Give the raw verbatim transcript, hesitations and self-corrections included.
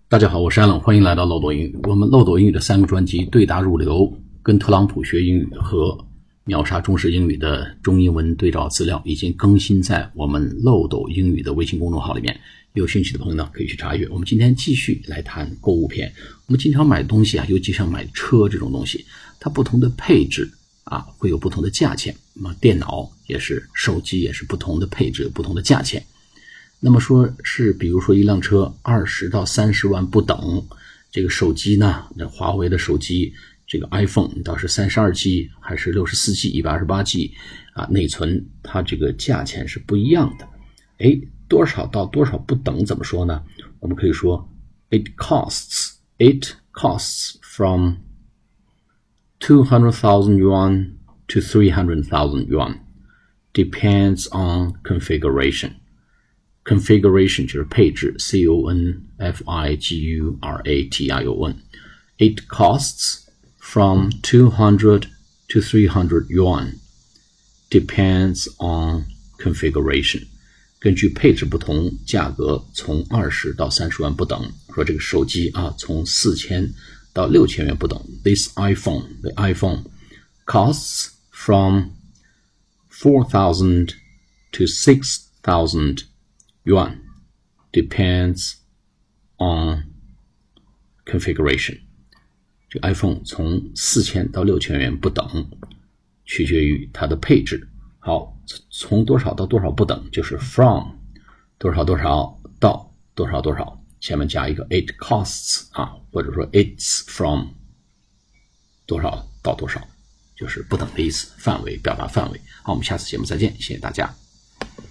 大家好，我是Alan，欢迎来到漏斗英语。我们漏斗英语的三个专辑对答入流、跟特朗普学英语和秒杀中式英语的中英文对照资料已经更新在我们漏斗英语的微信公众号里面，有兴趣的朋友呢可以去查阅。我们今天继续来谈购物篇。我们经常买东西啊，尤其像买车这种东西，它不同的配置啊会有不同的价钱。那么电脑也是，手机也是不同的配置，有不同的价钱。那么说是比如说一辆车二十到三十万不等，这个手机呢，那华为的手机这个 iPhone 到是三十二 G 还是六十四 G 一百二十八 G 啊，内存它这个价钱是不一样的。诶，多少到多少不等怎么说呢？我们可以说 it costs it costs from two hundred thousand yuan to three hundred thousand yuan depends on configuration.Configuration 就是配置 C O N F I G U R A T I O N. It costs from two hundred to three hundred yuan. Depends on configuration. 根据配置不同，价格从二十到三十万不等。说这个手机啊，从四千到六千元不等。This iPhone, the iPhone costs from four thousand to six thousand yuan, depends on configuration. 这个 iPhone 从四千到六千元不等，取决于它的配置。好，从多少到多少不等，就是 from 多少多少到多少多少，前面加一个 it costs 啊，或者说 it's from 多少到多少，就是不等的意思，范围表达范围。好，我们下次节目再见，谢谢大家。